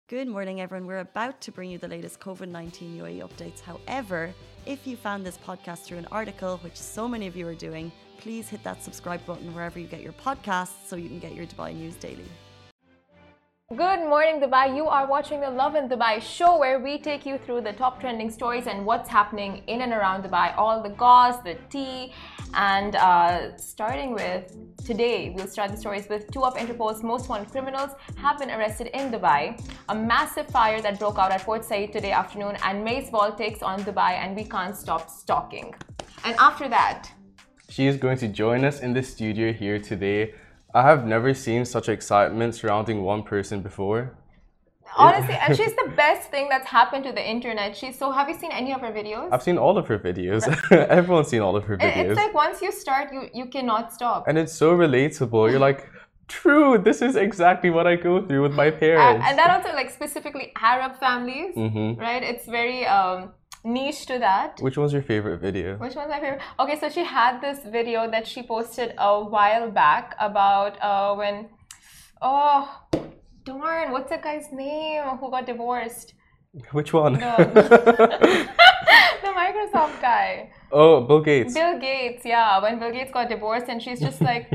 Good morning, everyone. We're about to bring you the latest COVID-19 UAE updates. However, if you found this podcast through an article, which so many of you are doing, please hit that subscribe button wherever you get your podcasts so you can get your Dubai news daily. Good morning, Dubai. You are watching the Love in Dubai show where we take you through the top trending stories and what's happening in and around Dubai. All the goss, the tea, and starting with today, we'll start the stories with two of Interpol's most wanted criminals have been arrested in Dubai. A massive fire that broke out at Port Said today afternoon, and Mace Ball takes on Dubai, and we can't stop stalking. And after that, she is going to join us in the studio here today. I have never seen such excitement surrounding one person before. Honestly, and she's the best thing that's happened to the internet. Have you seen any of her videos? I've seen all of her videos. Everyone's seen all of her videos. It's like once you start, you cannot stop. And it's so relatable. You're like, true, this is exactly what I go through with my parents. And that also, like, specifically Arab families, right? It's very niche to that. Which one's your favorite video? Which one's my favorite? Okay, so she had this video that she posted a while back about when, oh darn, what's that guy's name who got divorced? Which one? The Microsoft guy. Oh, Bill Gates. Bill Gates, yeah. When Bill Gates got divorced and she's just like,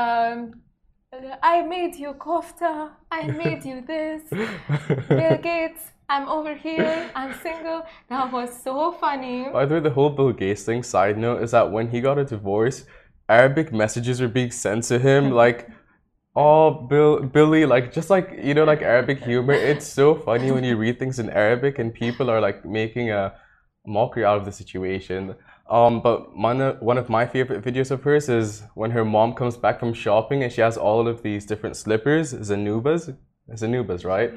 I made you kofta, I made you this. Bill Gates, I'm over here, I'm single. That was so funny. By the way, the whole Bill Gates thing, side note, is that when he got a divorce, Arabic messages were being sent to him like, oh, Billy, like, just like, you know, like Arabic humor. It's so funny when you read things in Arabic and people are like making a mockery out of the situation. But one of my favorite videos of hers is when her mom comes back from shopping and she has all of these different slippers, Zanubas, right?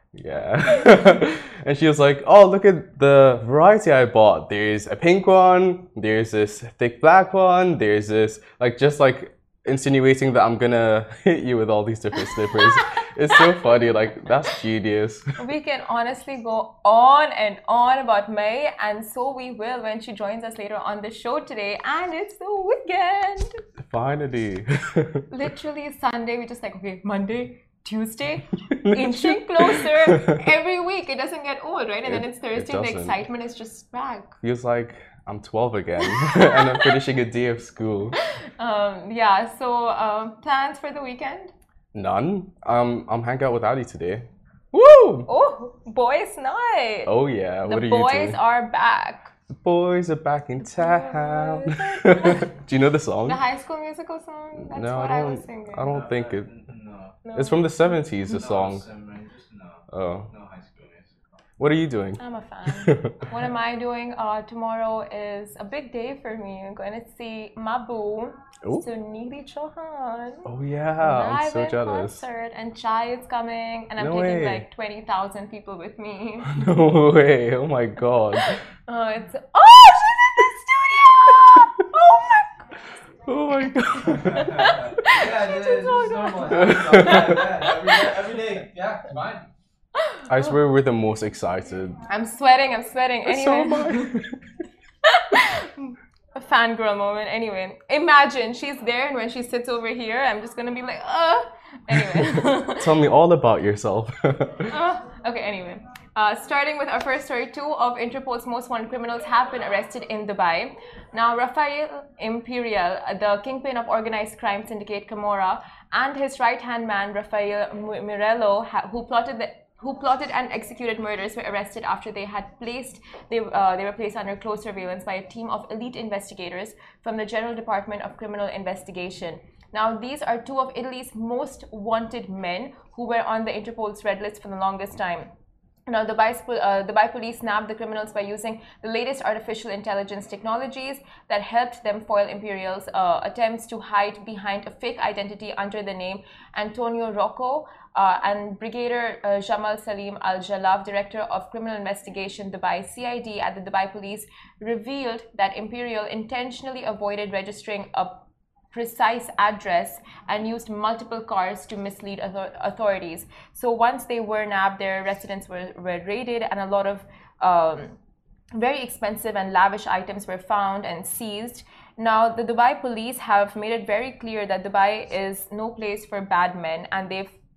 Yeah. And she was like, oh, look at the variety I bought. There's a pink one, there's this thick black one, there's this, like, just like insinuating that I'm gonna hit you with all these different slippers. It's so funny, like, that's genius. We can honestly go on and on about May, and so we will when she joins us later on the show today, and it's the weekend. Finally. Literally Sunday, we just like, okay, Monday, Tuesday, inching closer every week. It doesn't get old, right? And then it's Thursday, the excitement is just back. Feels like I'm 12 again and I'm finishing a day of school. Yeah, so plans for the weekend? None. I'm hanging out with Ali today. Woo! Oh, boys' night. Oh yeah, what are you doing? The boys are back. The boys are back in town. Do you know the song? The High School Musical song? That's no, what I was singing. I don't think it. No. It's from the 70s, the song. Oh. What are you doing? I'm a fan. What am I doing? Tomorrow is a big day for me. I'm going to see my boo, Sunidhi Chauhan. Oh yeah, I'm so jealous. Concert, and Chai is coming, and I'm taking like 20,000 people with me. No way! Oh my god. She's in the studio! Oh my god. Yeah, it's normal. Every day. Yeah, it's fine. I swear we're the most excited. I'm sweating. Anyway. So am I. A fangirl moment. Anyway, imagine she's there, and when she sits over here, I'm just gonna be like, Anyway. Tell me all about yourself. Okay, anyway. Starting with our first story, two of Interpol's most wanted criminals have been arrested in Dubai. Now, Rafael Imperial, the kingpin of organized crime syndicate Camorra, and his right-hand man, Rafael Mirello, who plotted and executed murders, were arrested after they were placed under close surveillance by a team of elite investigators from the General Department of Criminal Investigation. Now, these are two of Italy's most wanted men who were on the Interpol's red list for the longest time. Now, the Dubai police nabbed the criminals by using the latest artificial intelligence technologies that helped them foil Imperial's attempts to hide behind a fake identity under the name Antonio Rocco, and Brigadier Jamal Salim Al-Jalaf, Director of Criminal Investigation Dubai CID at the Dubai Police, revealed that Imperial intentionally avoided registering a precise address and used multiple cars to mislead authorities. So once they were nabbed, their residence were raided, and a lot of very expensive and lavish items were found and seized. Now, the Dubai police have made it very clear that Dubai is no place for bad men, and they've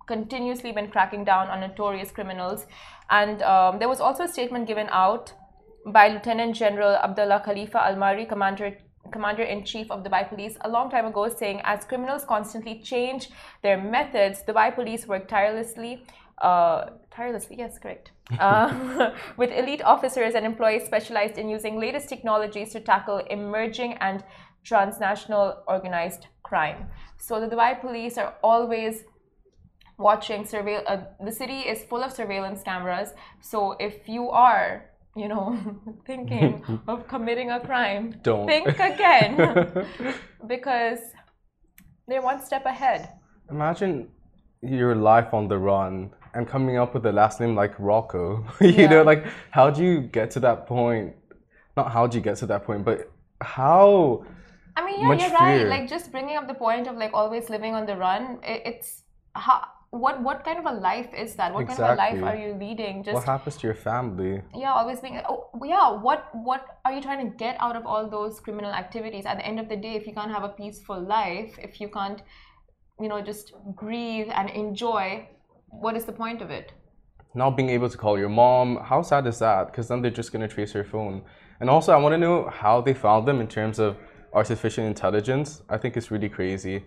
continuously been cracking down on notorious criminals. And there was also a statement given out by Lieutenant General Abdullah Khalifa Al-Mari, Commander-in-Chief of Dubai Police, a long time ago, saying as criminals constantly change their methods, Dubai Police work tirelessly, yes, correct, with elite officers and employees specialized in using latest technologies to tackle emerging and transnational organized crime. So the Dubai Police are always watching, the city is full of surveillance cameras. So if you are, you know, thinking of committing a crime, don't think again, because they're one step ahead. Imagine your life on the run and coming up with a last name like Rocco. You know, like, how do you get to that point? Not how do you get to that point, but how? I mean, yeah, you're right. Like, just bringing up the point of like always living on the run. It's how. What kind of a life is that? What kind of a life are you leading? Just what happens to your family? Yeah, always being. Oh, yeah. What are you trying to get out of all those criminal activities? At the end of the day, if you can't have a peaceful life, if you can't, you know, just breathe and enjoy, what is the point of it? Not being able to call your mom. How sad is that? Because then they're just gonna trace your phone. And also, I want to know how they found them in terms of artificial intelligence. I think it's really crazy.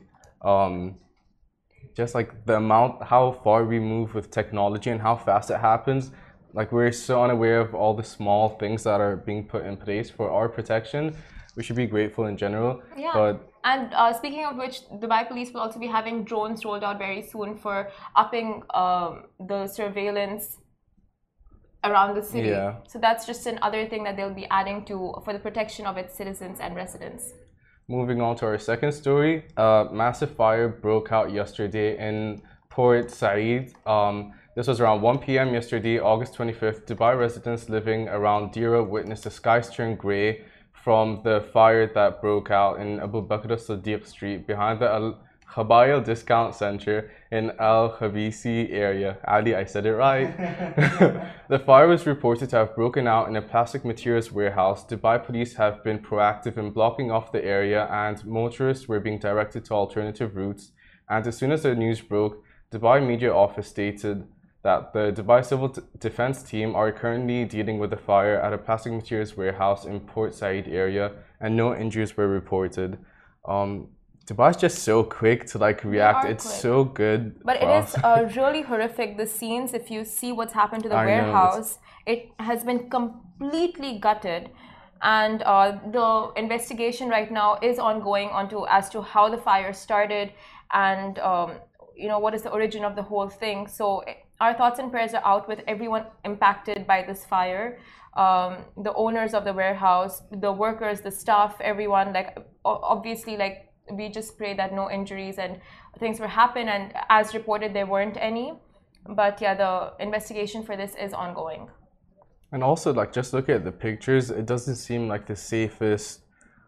Just like the amount, how far we move with technology and how fast it happens. Like, we're so unaware of all the small things that are being put in place for our protection. We should be grateful in general. Yeah. But and speaking of which, Dubai Police will also be having drones rolled out very soon for upping the surveillance around the city. Yeah. So that's just another thing that they'll be adding to for the protection of its citizens and residents. Moving on to our second story, a massive fire broke out yesterday in Port Said. This was around 1 p.m. yesterday, August 25th. Dubai residents living around Dira witnessed the skies turn grey from the fire that broke out in Abu Bakr as-Siddiq Street behind the Al Khabayal Discount Center in Al Khabisi area. Ali, I said it right. The fire was reported to have broken out in a plastic materials warehouse. Dubai police have been proactive in blocking off the area, and motorists were being directed to alternative routes. And as soon as the news broke, Dubai Media Office stated that the Dubai Civil Defense Team are currently dealing with the fire at a plastic materials warehouse in Port Said area, and no injuries were reported. Dubai's just so quick to like react. It's quick. So good. But it is really horrific. The scenes, if you see what's happened to the warehouse, it has been completely gutted. And the investigation right now is ongoing as to how the fire started and you know, what is the origin of the whole thing. So our thoughts and prayers are out with everyone impacted by this fire. The owners of the warehouse, the workers, the staff, everyone. Like, obviously, like, we just pray that no injuries and things will happen, and as reported there weren't any, but yeah, the investigation for this is ongoing. And also, like, just look at the pictures, it doesn't seem like the safest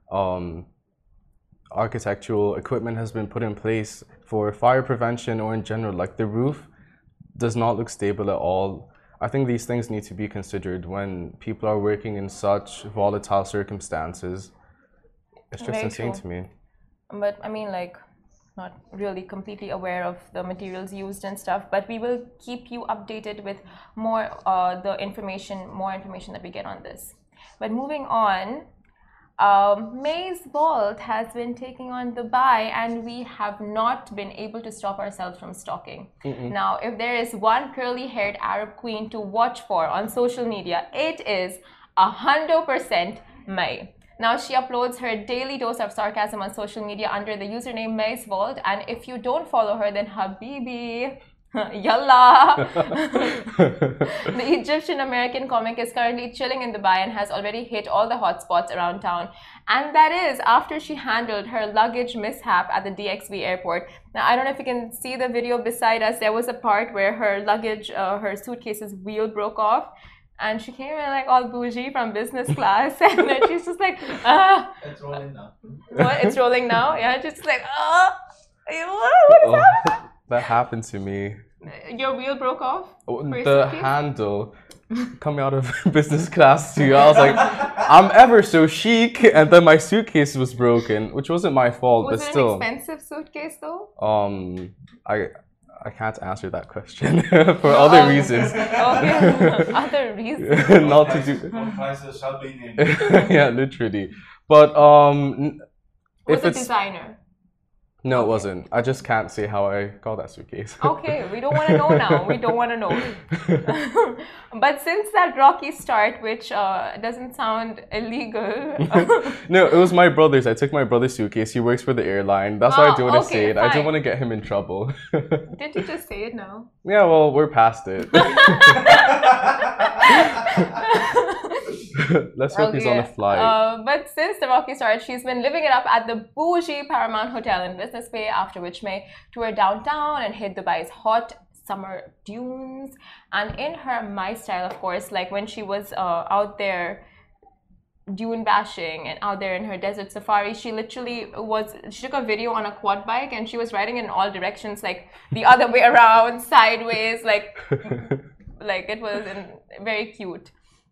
architectural equipment has been put in place for fire prevention or in general. Like, the roof does not look stable at all. I think these things need to be considered when people are working in such volatile circumstances. It's just insane to me. But I mean, like, not really completely aware of the materials used and stuff, but we will keep you updated with more more information that we get on this. But moving on, Maze Vault has been taking on Dubai, and we have not been able to stop ourselves from stalking. Now, if there is one curly-haired Arab queen to watch for on social media, it is 100% May. Now, she uploads her daily dose of sarcasm on social media under the username Maze Vault, and if you don't follow her, then Habibi, yalla. The Egyptian-American comic is currently chilling in Dubai and has already hit all the hotspots around town. And that is after she handled her luggage mishap at the DXB airport. Now, I don't know if you can see the video beside us. There was a part where her luggage, her suitcase's wheel broke off. And she came in like all bougie from business class, and then she's just like, It's rolling now. What? It's rolling now? Yeah, just like, what is that? That happened to me. Your wheel broke off? The handle coming out of business class too. I was like, I'm ever so chic, and then my suitcase was broken, which wasn't my fault, but still. Was it an expensive suitcase though? I can't answer that question for other reasons. Okay, other reasons. Not to do. What prices shall be named. Yeah, literally. But Was if it it's designer? no, it wasn't. I just can't say how I got that suitcase. Okay, we don't want to know now. We don't want to know. But since that rocky start, which doesn't sound illegal. No, it was my brother's. I took my brother's suitcase. He works for the airline. That's why I didn't want to say it. I fine. didn't want to get him in trouble. Didn't you just say it now? Yeah, well, we're past it. Let's hope he's on a flight. But since the rocky start, she's been living it up at the bougie Paramount Hotel in Business Bay, after which May toured downtown and hit Dubai's hot summer dunes. And in her My style, of course, like when she was out there dune bashing and out there in her desert safari, she took a video on a quad bike and she was riding in all directions, like the other way around, sideways, like it was very cute.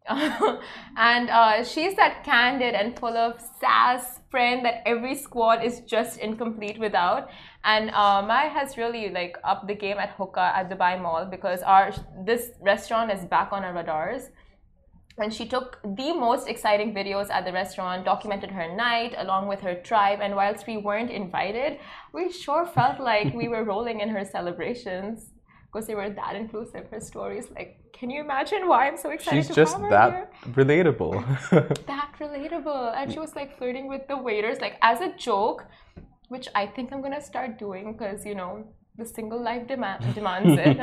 And she's that candid and full of sass friend that every squad is just incomplete without. And Mai has really like upped the game at Hookah at Dubai Mall, because this restaurant is back on our radars. And she took the most exciting videos at the restaurant, documented her night along with her tribe. And whilst we weren't invited, we sure felt like we were rolling in her celebrations, because they were that inclusive. Her stories, like, can you imagine why I'm so excited She's to just have her that here? relatable. That relatable. And she was like flirting with the waiters, like as a joke, which I think I'm gonna start doing, because you know the single life demands it.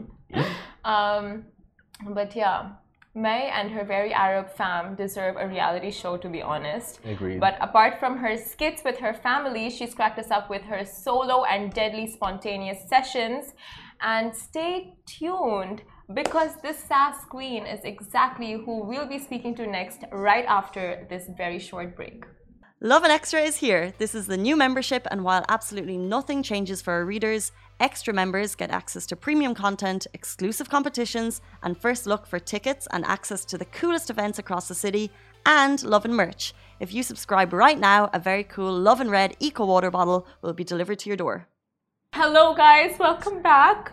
But yeah, May and her very Arab fam deserve a reality show, to be honest. Agreed. But apart from her skits with her family, she's cracked us up with her solo and deadly spontaneous sessions. And stay tuned, because this sass queen is exactly who we'll be speaking to next, right after this very short break. Lovin Extra is here. This is the new membership, and while absolutely nothing changes for our readers, extra members get access to premium content, exclusive competitions, and first look for tickets and access to the coolest events across the city, and Lovin merch. If you subscribe right now, a very cool Lovin Red Eco Water bottle will be delivered to your door. Hello guys, welcome back.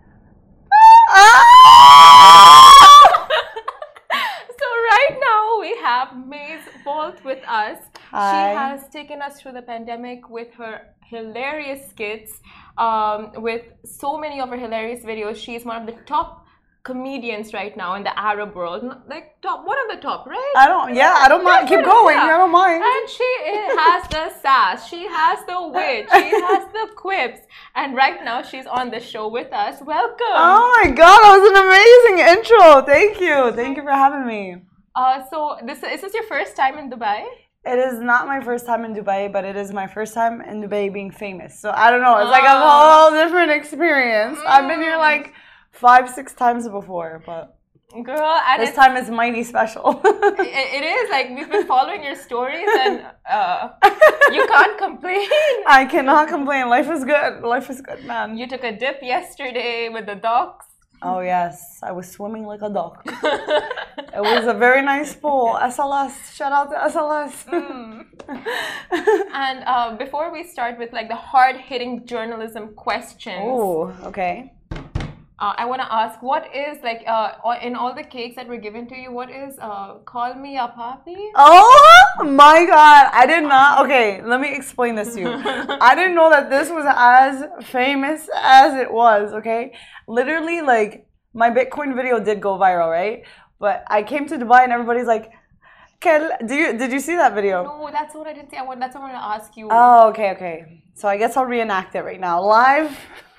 So right now we have May's Vault with us. Hi. She has taken us through the pandemic with her hilarious skits, with so many of her hilarious videos. She's one of the top comedians right now in the Arab world, like one of the top, right? I don't mind. Keep going. I don't mind. And she has the sass, she has the wit, she has the quips, and right now she's on the show with us. Welcome. Oh my god, that was an amazing intro. Thank you. Thank you for having me. So is this your first time in Dubai? It is not my first time in Dubai, but it is my first time in Dubai being famous. So I don't know. It's like a whole different experience. I've been here like 5-6 times before, but girl, and this time is mighty special. it is like we've been following your stories, and you can't complain. I cannot complain. Life is good. Life is good, man. You took a dip yesterday with the ducks. Oh yes, I was swimming like a duck. It was a very nice pool. SLS, shout out to SLS. And before we start with like the hard-hitting journalism questions, Oh, okay. I want to ask, what is like in all the cakes that were given to you, what is call me a papi? Oh my god, I did not. Okay, let me explain this to you. I didn't know that this was as famous as it was, okay? Literally, like, my Bitcoin video did go viral, right? But I came to Dubai and everybody's like, did you see that video? No, that's what I didn't see. That's what I want to ask you. Oh, okay. So I guess I'll reenact it right now. Live.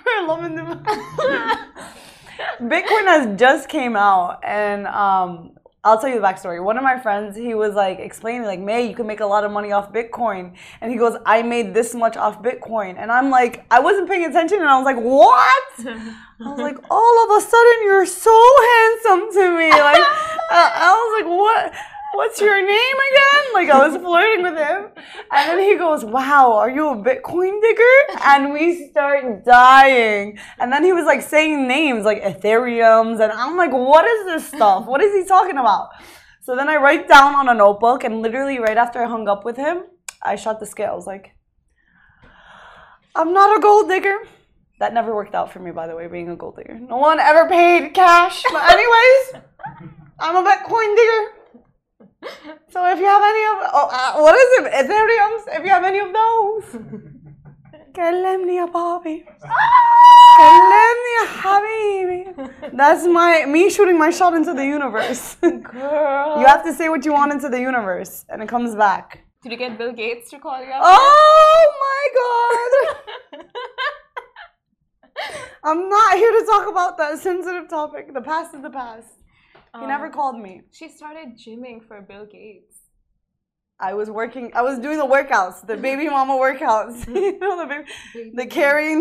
Bitcoin has just came out, and I'll tell you the backstory. One of my friends, he was like explaining, like, May, you can make a lot of money off Bitcoin. And he goes, I made this much off Bitcoin. And I'm like, I wasn't paying attention, and I was like, what? I was like, all of a sudden, you're so handsome to me. Like, I was like, what? What's your name again? Like, I was flirting with him. And then he goes, wow, are you a Bitcoin digger? And we start dying. And then he was like saying names like Ethereums. And I'm like, what is this stuff? What is he talking about? So then I write down on a notebook, and literally right after I hung up with him, I shot the scale. I was like, I'm not a gold digger. That never worked out for me, by the way, being a gold digger. No one ever paid cash. But anyways, I'm a Bitcoin digger. So if you have any of, what is it? Ethereums? If you have any of those, كلمني يا بابي. كلمني يا حبيبي. That's me shooting my shot into the universe. Girl. You have to say what you want into the universe, and it comes back. Did you get Bill Gates to call you up? Oh my God! I'm not here to talk about that sensitive topic. The past is the past. He never called me. She started gymming for Bill Gates. I was doing the workouts, the baby mama workouts. You know, the carrying,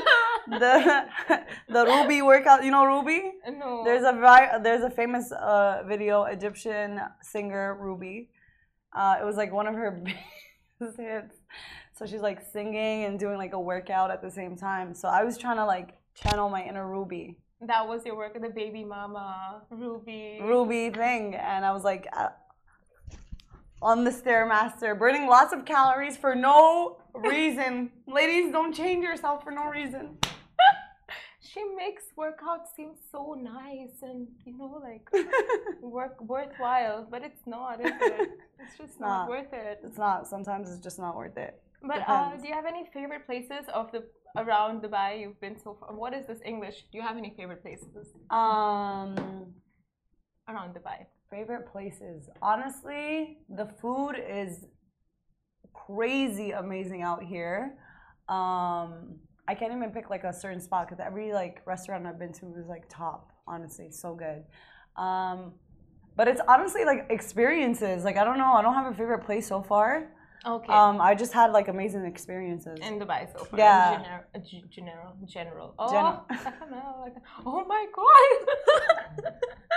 the Ruby workout. You know Ruby? No. There's a famous video, Egyptian singer Ruby. It was like one of her biggest hits. So she's like singing and doing like a workout at the same time. So I was trying to like channel my inner Ruby. That was your work at the baby mama, Ruby thing. And I was like on the Stairmaster, burning lots of calories for no reason. Ladies, don't change yourself for no reason. She makes workouts seem so nice and, you know, like worthwhile, but it's not, is it? It's just not worth it. It's not. Sometimes it's just not worth it. But do you have any favorite places around Dubai you've been so far? What is this English? Do you have any favorite places? Around Dubai. Favorite places. Honestly, the food is crazy amazing out here. I can't even pick like a certain spot because every like restaurant I've been to was like top. Honestly, so good. But it's honestly like experiences. Like I don't know. I don't have a favorite place so far. Okay. I just had like amazing experiences in Dubai so far. Yeah. General. Oh, oh my God.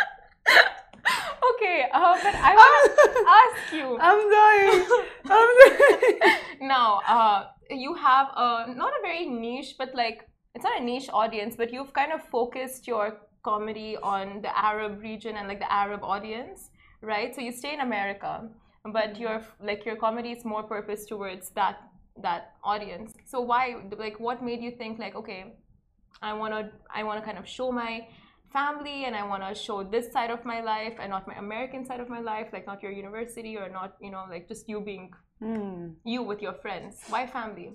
Okay, but I want to ask you. I'm dying. Now, you have not a very niche, but like it's not a niche audience, but you've kind of focused your comedy on the Arab region and like the Arab audience, right? So you stay in America, but your comedy is more purposed towards that audience. So why, like, what made you think like, okay, I wanna kind of show my family and I want to show this side of my life and not my American side of my life, like not your university or not, you know, like just you being you with your friends. Why family?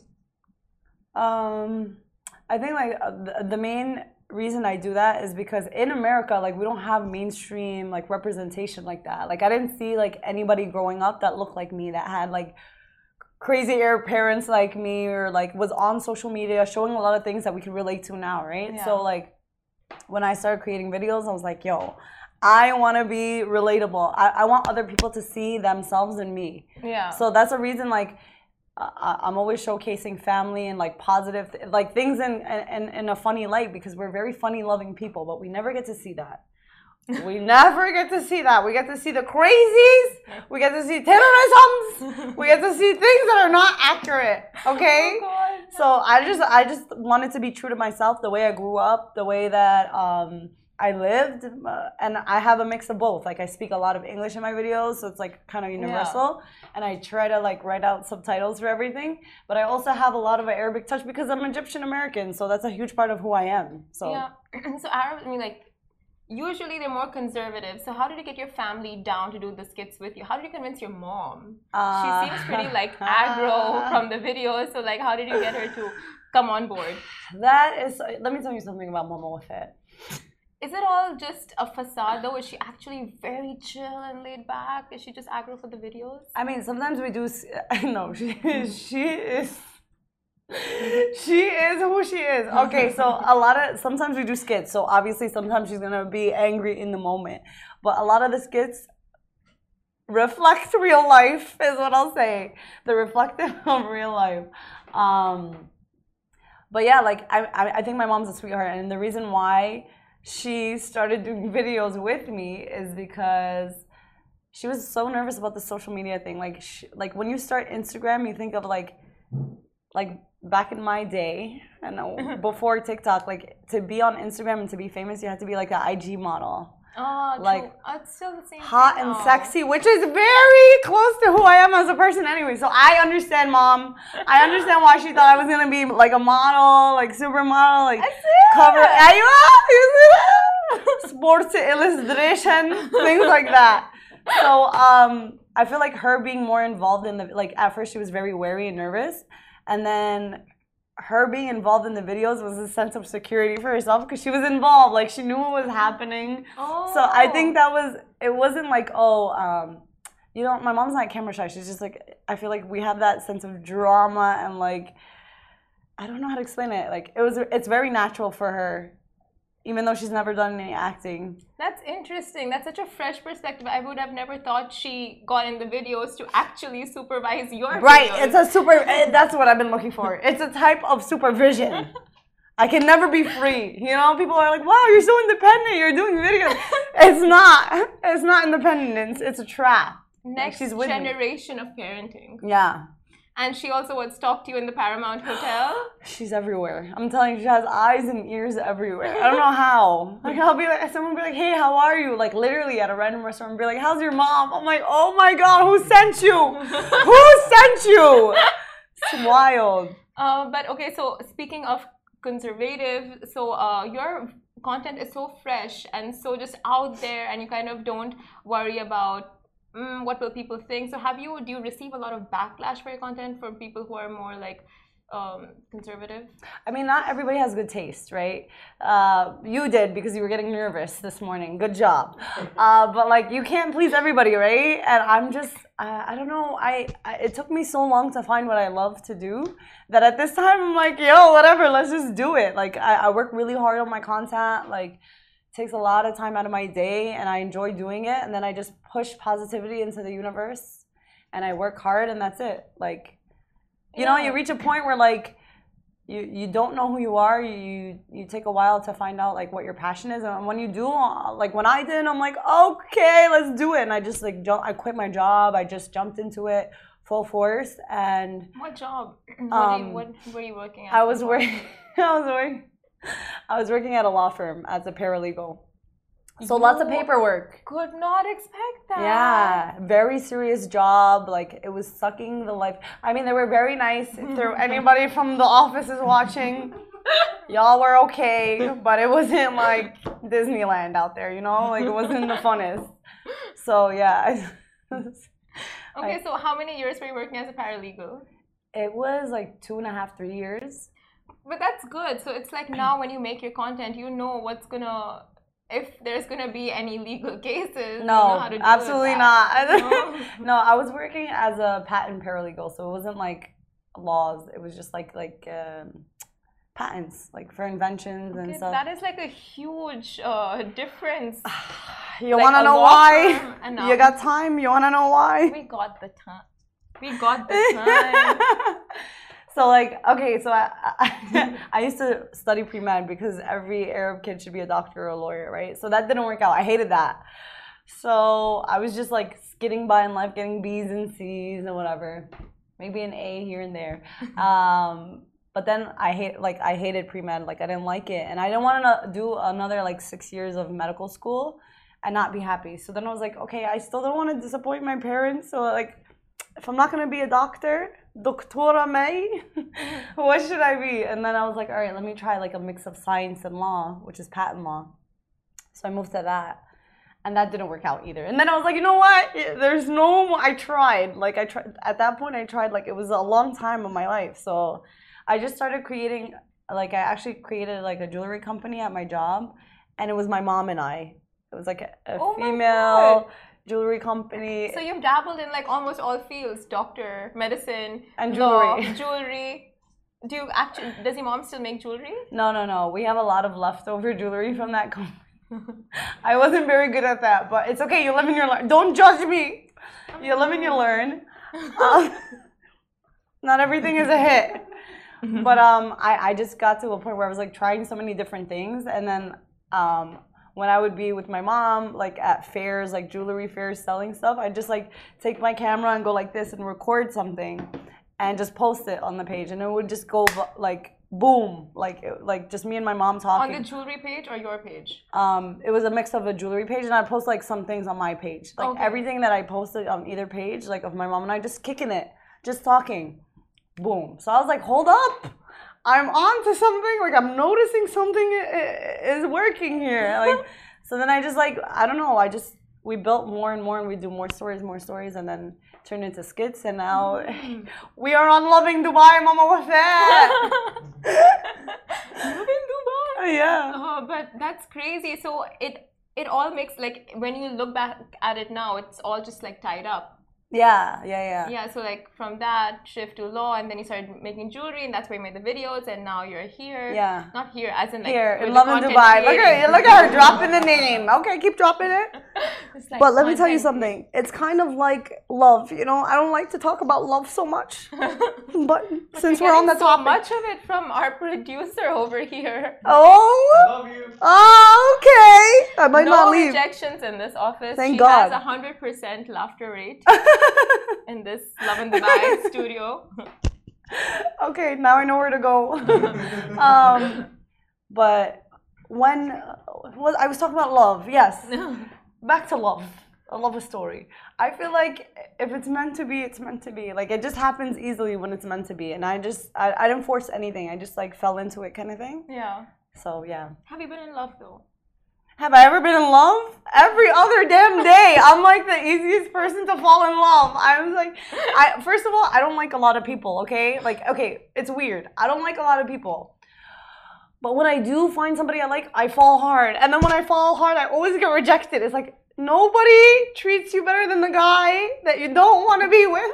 I think like the main reason I do that is because in America, like we don't have mainstream like representation like that. Like I didn't see like anybody growing up that looked like me, that had like crazy Arab parents like me, or like was on social media showing a lot of things that we can relate to now, right? Yeah. So like when I started creating videos, I was like, yo, I want to be relatable. I want other people to see themselves in me. Yeah. So that's a reason, like, I'm always showcasing family and like positive, like things in a funny light, because we're very funny loving people, but we never get to see that. We never get to see that. We get to see the crazies. We get to see terrorisms. We get to see things that are not accurate. Okay? Oh God. So I just wanted to be true to myself, the way I grew up, the way that I lived, and I have a mix of both. Like I speak a lot of English in my videos, so it's like kind of universal. And I try to like write out subtitles for everything. But I also have a lot of an Arabic touch because I'm Egyptian American, so that's a huge part of who I am. So yeah. So Arab, I mean, like, usually they're more conservative. So how did you get your family down to do the skits with you? How did you convince your mom? She seems pretty like aggro from the videos. So like, how did you get her to come on board? That is, let me tell you something about Mama with it. Is it all just a facade though? Is she actually very chill and laid back? Is she just aggro for the videos? I mean, sometimes we do, no, she is who she is. Okay, so sometimes we do skits. So obviously sometimes she's gonna be angry in the moment. But a lot of the skits reflect real life, is what I'll say. They're reflective of real life. But yeah, like I think my mom's a sweetheart, and the reason why she started doing videos with me is because she was so nervous about the social media thing. Like when you start Instagram, you think of like back in my day and before TikTok, like to be on Instagram and to be famous, you had to be like an IG model. Oh, Like, true. It's still the same hot thing and now. sexy, which is very close to who I am as a person anyway. So I understand, Mom. I understand why she thought I was gonna be like a model, like supermodel, like cover. You see that? Sports illustration, things like that. So I feel like her being more involved in the, like, at first she was very wary and nervous, and then her being involved in the videos was a sense of security for herself because she was involved, like she knew what was happening. Oh. So I think that was, it wasn't like, you know, my mom's not camera shy. She's just like, I feel like we have that sense of drama and like, I don't know how to explain it. Like it's very natural for her, even though she's never done any acting. That's interesting. That's such a fresh perspective. I would have never thought she got in the videos to actually supervise your Right, videos. it's a that's what I've been looking for. It's a type of supervision. I can never be free. You know, people are like, wow, you're so independent, you're doing videos. It's not independence, it's a trap. Next she's with me. generation of parenting. Yeah. And she also would stalk you in the Paramount Hotel. She's everywhere. I'm telling you, she has eyes and ears everywhere. I don't know how. Like, I'll be like, someone will be like, hey, how are you? Like, literally at a random restaurant, be like, how's your mom? I'm like, oh my God, who sent you? Who sent you? It's wild. But okay, so speaking of conservative, so your content is so fresh and so just out there, and you kind of don't worry about what will people think. So do you receive a lot of backlash for your content from people who are more like conservative? I mean, not everybody has good taste, right? You did because you were getting nervous this morning. Good job. But like, you can't please everybody, right? And I'm just, I don't know. It took me so long to find what I love to do that at this time I'm like, yo, whatever, let's just do it. Like, I work really hard on my content. Like, takes a lot of time out of my day and I enjoy doing it, and then I just push positivity into the universe and I work hard, and that's it. Like, you know, you reach a point where like you don't know who you are. You take a while to find out like what your passion is, and when you do, like when I did, I'm like, okay, let's do it. And I just like I quit my job. I just jumped into it full force. And what job? What were you working at? I was working at a law firm as a paralegal. So lots of paperwork. Could not expect that. Yeah, very serious job. Like, it was sucking the life. I mean, they were very nice. If there anybody from the office is watching, y'all were okay, but it wasn't like Disneyland out there, you know? Like, it wasn't the funnest. So yeah. Okay, so how many years were you working as a paralegal? It was like 2.5, 3 years. But that's good. So it's like now when you make your content, you know what's gonna, if there's gonna be any legal cases. No, you know how to deal absolutely with not. that. No, I was working as a patent paralegal, so it wasn't like laws. It was just like patents, like for inventions and stuff. That is like a huge difference. You Like wanna a know law why? firm and You got time? You wanna know why? We got the time. We got the time. So like, okay, so I used to study pre-med because every Arab kid should be a doctor or a lawyer, right? So that didn't work out. I hated that. So I was just like skidding by in life, getting B's and C's and whatever, maybe an A here and there. But then I hated pre-med. Like, I didn't like it, and I didn't want to do another like 6 years of medical school and not be happy. So then I was like, okay, I still don't want to disappoint my parents. So like, if I'm not gonna be a doctor, Doctora May, what should I be? And then I was like, all right, let me try like a mix of science and law, which is patent law. So I moved to that, and that didn't work out either. And then I was like, you know what? I tried. Like, at that point, I tried, like, it was a long time of my life. So I just started creating, like, I actually created like a jewelry company at my job, and it was my mom and I. It was like a female jewelry company. So you've dabbled in like almost all fields: doctor, medicine, and law, jewelry. Jewelry. Does your mom still make jewelry? No. We have a lot of leftover jewelry from that company. I wasn't very good at that, but it's okay. You live and you learn. Don't judge me. You live and you learn. Not everything is a hit. But I just got to a point where I was like trying so many different things, and then when I would be with my mom, like at fairs, like jewelry fairs, selling stuff, I'd just like take my camera and go like this and record something and just post it on the page, and it would just go like boom, like just me and my mom On talking. the jewelry page or your page? It was a mix of a jewelry page, and I post like some things on my page, like Okay. everything that I posted on either page, like of my mom and I, just kicking it, just talking, boom. So I was like, hold up, I'm on to something. Like I'm noticing something is working here. Like, so then I just like, I don't know, we built more and more, and we do more stories, and then turned into skits, and now we are on Loving Dubai, Mama Wafat. Loving Dubai. Yeah. Oh, but that's crazy. So it all makes, like, when you look back at it now, it's all just like tied up. Yeah. Yeah, so like from that shift to law, and then you started making jewelry, and that's where you made the videos, and now you're here. Yeah. Not here, as in like Here with in the Love in content Dubai. creating. Look at her dropping the name. Okay, keep dropping it. It's like But let me tell you content. something. It's kind of like love, you know. I don't like to talk about love so much. But since we're on the Getting so topic. much of it from our producer over here. Oh. Love you. Oh, okay. I might No not leave. rejections in this office. Thank she God. has 100% laughter rate in this Love in Dubai studio. Okay, now I know where to go. But when I was talking about love, yes. Back to love. I love a story. I feel like if it's meant to be, it's meant to be. Like it just happens easily when it's meant to be. And I didn't force anything. I just like fell into it kind of thing. Yeah. So yeah. Have you been in love though? Have I ever been in love? Every other damn day. I'm like the easiest person to fall in love. I'm like, first of all, I don't like a lot of people, okay? Like, okay, it's weird. I don't like a lot of people. But when I do find somebody I like, I fall hard. And then when I fall hard, I always get rejected. It's like, nobody treats you better than the guy that you don't want to be with.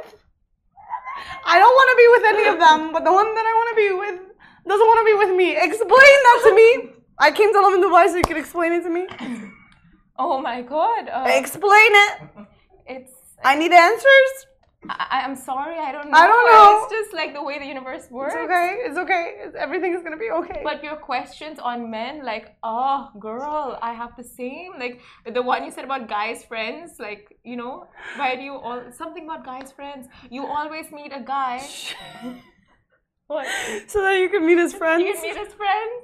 I don't want to be with any of them, but the one that I want to be with doesn't want to be with me. Explain that to me. I came to Love in Dubai so you could explain it to me. Oh my God. Explain it. It's. I need answers. I'm sorry, I don't know. I don't know. It's just like the way the universe works. It's okay. It's okay. Everything is gonna be okay. But your questions on men, like, oh, girl, I have the same. Like, the one you said about guys' friends, like, you know, why do you all. Something about guys' friends. You always meet a guy. What? So that you can meet his friends. You can meet his friends.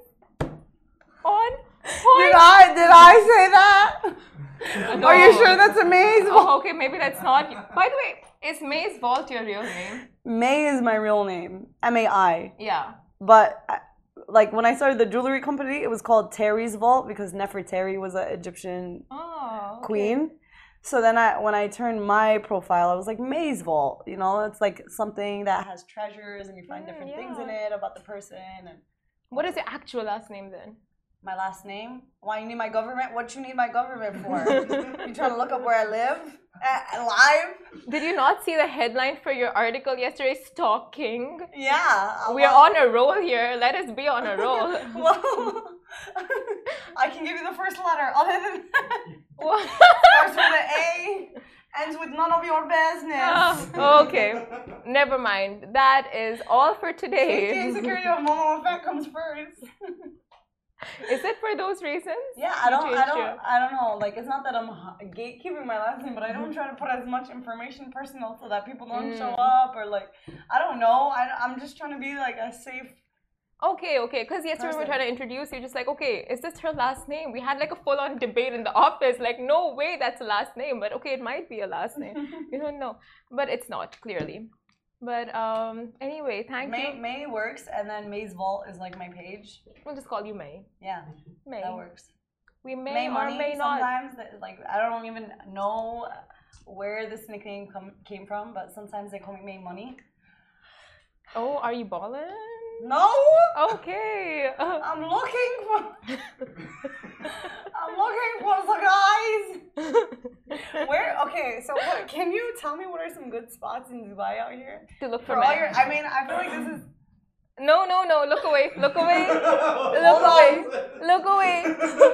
On? Did I say that? No. Are you sure that's amazing? Oh, okay, maybe that's not. By the way, is Maze Vault your real name? May is my real name. MAI. Yeah. But like when I started the jewelry company, it was called Terry's Vault because Nefertari was an Egyptian Oh. Okay. queen. So then when I turned my profile, I was like May's Vault. You know, it's like something that has treasures and you find different things in it about the person. And What is your actual last name then? my last name? Why you need my government? What you need my government for? You trying to look up where I live? Live? Did you not see the headline for your article yesterday? Stalking. Yeah. We are on a roll here. Let us be on a roll. Well, I can give you the first letter. Other than that, What? starts with an A, ends with none of your business. Oh, okay. Never mind. That is all for Safety and today. security of Mama Wafat comes first. Is it for those reasons? Yeah, You changed your- I don't know. Like, it's not that I'm gatekeeping my last name, but I don't try to put as much information personal so that people don't show up or like, I don't know. I'm just trying to be like a safe. Okay. Because yesterday we were trying to introduce you, just like, okay, is this her last name? We had like a full-on debate in the office, like, no way that's a last name, but okay, it might be a last name. You don't know, but it's not clearly. But anyway, thank you. May works, and then May's Vault is like my page. We'll just call you May. Yeah, May. that works. We may, May or money may not. sometimes. Like I don't even know where this nickname came from, but sometimes they call me May Money. Oh, are you ballin'? No. Okay. I'm looking for the guys. Where? Okay, so what, can you tell me what are some good spots in Dubai out here? To look for For all men. your, I mean, I feel like this is. No. Look away. Look away. Hold on. Look away.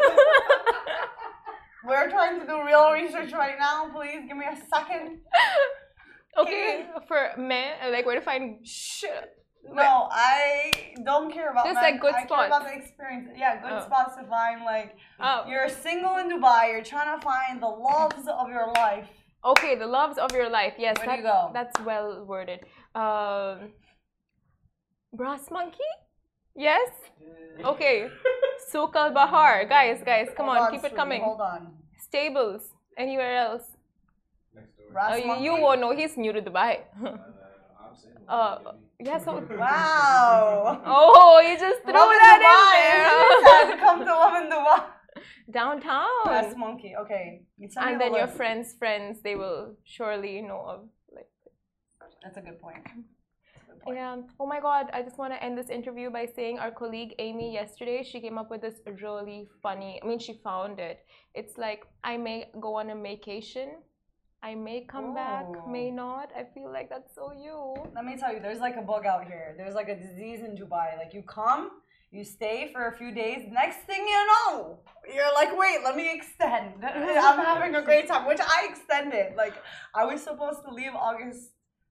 We're trying to do real research right now. Please give me a second. Okay. For men, like where to find. No, I don't care about Just men. like good I spots. care about the experience. Yeah, good Oh. spots to find. Like, Oh. you're single in Dubai. You're trying to find the loves of your life. Okay, the loves of your life. Yes, Where do you go? That's well worded. Brass monkey? Yes? Okay. Souk al Bahar. Guys, come on, keep it coming. Hold on. Stables. Anywhere else? Next door. Ras You Monkey? won't know. He's new to Dubai. I'm saying. Yeah, so. Wow. Oh, you just threw Love in that Dubai. in there. Come to Love in Dubai. Downtown. Ras Monkey. Okay. You send me And the then your list. friends, they will surely know of. Like, That's a good point. yeah. Oh my God. I just want to end this interview by saying our colleague Amy yesterday, she came up with this really funny. I mean, she found it. It's like, I may go on a vacation. I may come back, may not. I feel like that's so you. Let me tell you, there's like a bug out here. There's like a disease in Dubai. Like you come, you stay for a few days. Next thing you know, you're like, wait, let me extend. I'm having a great time, which I extended. Like I was supposed to leave August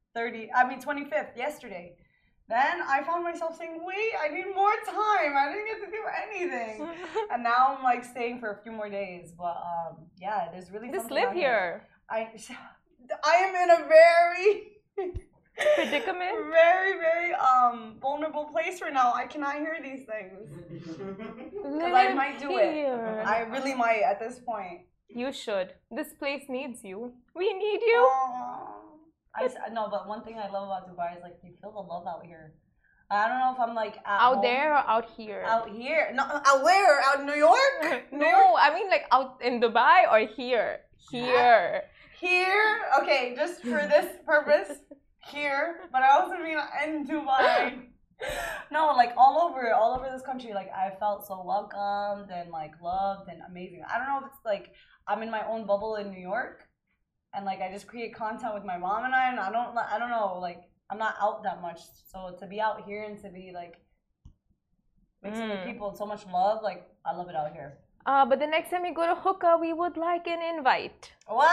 25th, yesterday. Then I found myself saying, wait, I need more time. I didn't get to do anything. And now I'm like staying for a few more days. But yeah, there's really Just something live out here. I am in a very Predicament? very vulnerable place right now. I cannot hear these things. Because I might do it. I really might at this point. You should. This place needs you. We need you. No, but one thing I love about Dubai is like you feel the love out here. I don't know if I'm like Out home. there or out here? Out here. No, out where? Out in New York? No, I mean like out in Dubai or here? Here. Here? Okay, just for this purpose. Here. But I also mean in Dubai. No, like all over this country, like I felt so welcomed and like loved and amazing. I don't know if it's like I'm in my own bubble in New York and like I just create content with my mom and I don't know, like I'm not out that much. So to be out here and to be like mixing with people and so much love, like I love it out here. But the next time we go to hookah, we would like an invite. What?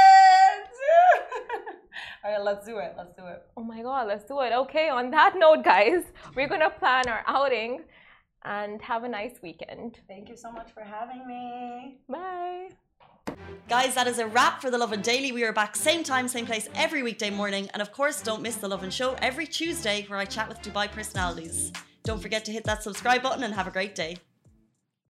All right, let's do it. Let's do it. Oh my God, let's do it. Okay, on that note, guys, we're gonna plan our outing and have a nice weekend. Thank you so much for having me. Bye. Guys, that is a wrap for The Lovin Daily. We are back same time, same place every weekday morning. And of course, don't miss The Lovin Show every Tuesday where I chat with Dubai personalities. Don't forget to hit that subscribe button and have a great day.